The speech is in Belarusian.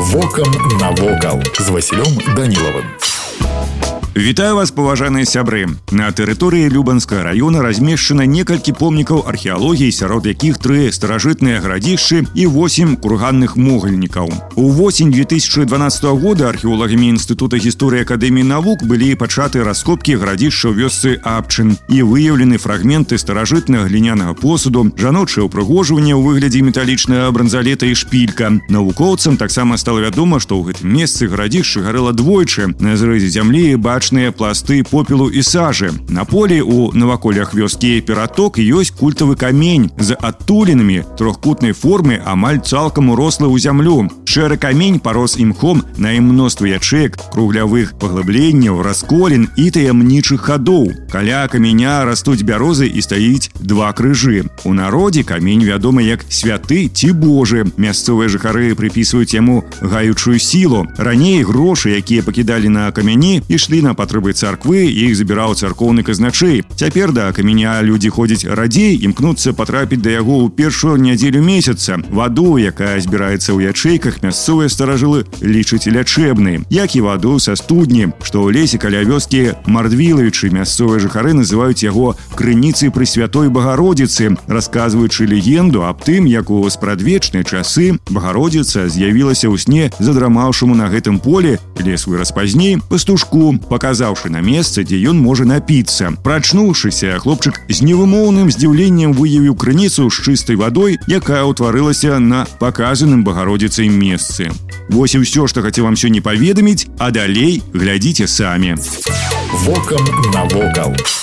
Вокам навокал з Васілём Данілавым. Вітаю вас, паважаныя сябры. На тэрыторыі Любанскага района размешчана некалькі помнікаў археалогіі, сярод якіх 3 старажытныя гарадзішчы і 8 курганных могільнікаў. У восень 2012 года археолагамі Інстытута гісторыі Акадэміі навук былі пачаты раскопкі гарадзішча ў вёсцы Абчын і выяўлены фрагменты старажытнага глінянага посуду, жаночае ўпрыгожванне ў выглядзе металічнага бранзалета і шпілька. Навукоўцам таксама стала вядома, што ў гэтым месцы гарадзішча гарэла двойчы. На зрэзе зямлі бачныя пласты попелу і сажы. На полі у наваколлях вёскі Ператок ёсць культавы камень з адтулінамі трохкутнай формы, амаль цалкам урослы ў зямлю. Шэры камень парос імхом на ім мноства ячэек, круглявых паглыбленняў, расколін і таямнічых хадоў. Каля каменя растуць бярозы і стаіць 2 крыжы. У народзе камень вядомы як святы ці божы. Мясцовыя жыхары прыпісваюць яму гаючую сілу. Раней грошы, якія пакідалі на камяні, ішлі на патрэбы царквы, іх забіраў царкоўны казначэй. Цяпер да каменя людзі ходзяць радзей, імкнуцца патрапіць да яго ў першую нядзелю месяца. Ваду, якая збіраецца ў ячэйках, мясцовыя старажылы лічаць лячэбнай, як і ваду са студні, што ў лесе каля вёскі Мардвілавічы. Мясцовыя жыхары называюць яго крыніцай Пресвятой Багародзіцы, расказваючы легенду аб тым, як у спрадвечныя часы Багародзіца з'явілася ў сне задрамаўшаму на гэтым полі, лес вырас пазней, пастушку, паказаўшы на месца, дзе ён можа напіцца. Прачнуўшыся, хлопчык з невымоўным здзіўленнем выявіў крыніцу з чыстай вадой, якая ўтварылася на паказаным Багародзіцай месцы. Вось і ўсё, што хацеў вам сёння паведаміць, а далей глядзіце самі. Вокам навокал.